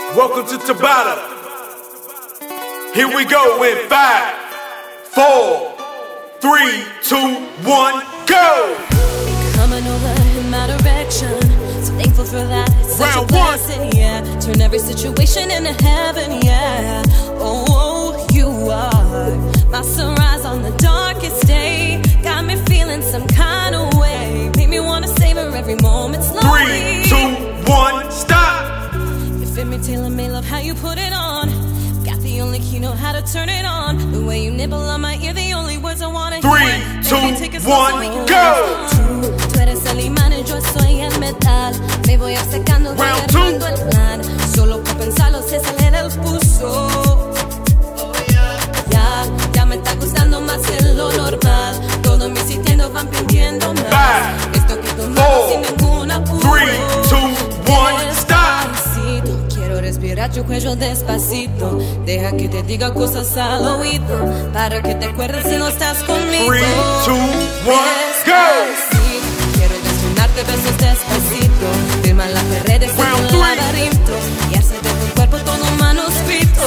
Welcome to Tabata. Here we go in 5, 4, 3, 2, 1, go! Coming over in my direction, so thankful for that. It's such a blessing, yeah. Turn every situation into heaven, yeah. Oh, you are my sunrise on the darkest day. Got me feeling some kind of way. Made me wanna savor every moment slowly. 3, 2, 1, stop! You fit me, tailor me, love how you put it on. Got the only key, know how to turn it on. The way you nibble on my ear, the only words I wanna 3, hear. 2, 1, go! Tú eres el imán y yo soy el metal. Me voy obcecando, voy armando el plan. Solo por pensarlo se sale del pulso. Ya me está gustando más de lo normal. Todos mis sintiendo van pidiendo más. Esto que tomamos sin ningún apuro. 3, 2, 1, stop! Quiero respirar tu cuello despacito. Deja que te diga cosas al oído, para que te acuerdes si no estás conmigo. 3, 2, 1, go! Quiero desnudarte besos despacito. Firma las paredes en un laberinto y hacer de tu cuerpo todo un manuscrito.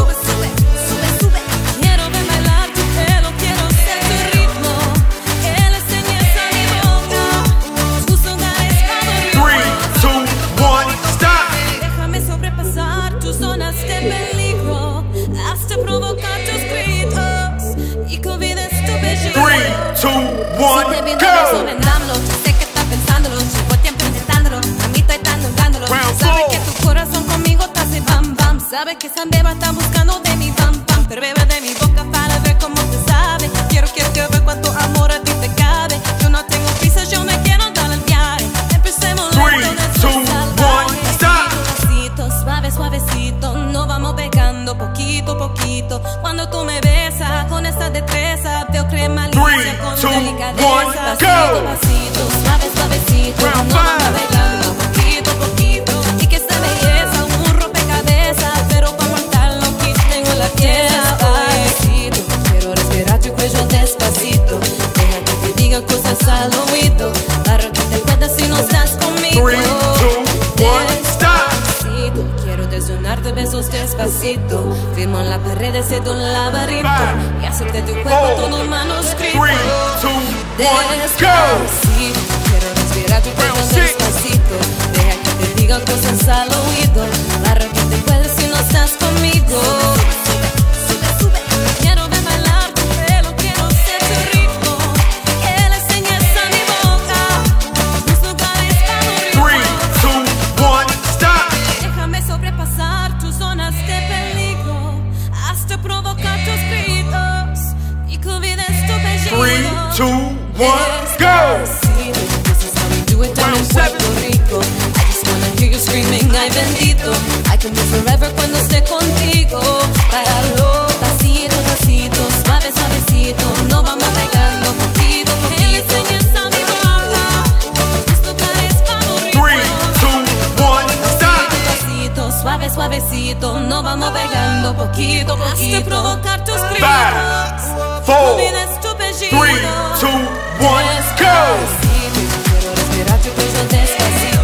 Sube. Quiero ver bailar tu pelo, quiero ser tu ritmo. Que le enseñes a mi boca tus lugares favoritos. 3, 2, 1, stop! Déjame sobrepasar tus zonas de peligro hasta provocar tus gritos y que olvides tu belleza. 3, 2, 1, go! Sé que estás pensándolo, llevo tiempo intentándolo. A mí estoy tan dándolo. Sabes que tu corazón conmigo te hace bam bam. Sabes que esa beba está buscando de mi bam bam. Pero bebe de mi boca para ver cómo te sabe. Quiero ver cuánto amor a ti te cabe. Yo no tengo prisa, yo me quiero dar el viaje. Empecemos 3, 2, 1, stop! Suave, suavecito, nos vamos pegando poquito a poquito. Cuando tú me besas con esa destreza, veo crema limpia con 3, 2, 1, delicadeza. go! Pasito, suave, suavecito, nos vamos pegando poquito a poquito. Y que esa belleza, un rompecabezas, pero para montarlo aquí tengo la pieza. Pasito, quiero respirar tu cuello despacito. Deja que te diga cosas al oído, para que te acuerdes si no estás conmigo. 3, 2, 1, stop! Quiero desnudarte besos despacito. Firmo en las paredes de un laberinto y hacerte tu cuerpo todo un manuscrito. 3, 2, 1, go! Despacito, quiero respirar tu cuello despacito. Deja que te diga cosas al oído, para que te acuerdes si no estás conmigo. Sube. Quiero ver bailar tu pelo, quiero ser tu ritmo. Que le enseñes a mi boca tus lugares favoritos. 3, 2, 1, stop! Déjame sobrepasar tus zonas de peligro hasta provocar tus gritos y que olvides tu belleza. 3, 2, 1, go! This is how we do it down in Puerto Rico. I just wanna hear you screaming, ay bendito. I can be forever cuando esté contigo. Páralo, pasito, pasito, suave, suavecito. Nos vamos pegando poquito, poquito. Que le enseñes a mi boca tus lugares favoritos. 3, 2, 1, stop! Pasito, suave, suavecito, nos vamos pegando poquito, poquito. Hasta provocar tus gritos. 5, 4, Olvides tu 3, belleza. 2, 1, go! Quiero respirar tu cuello despacito.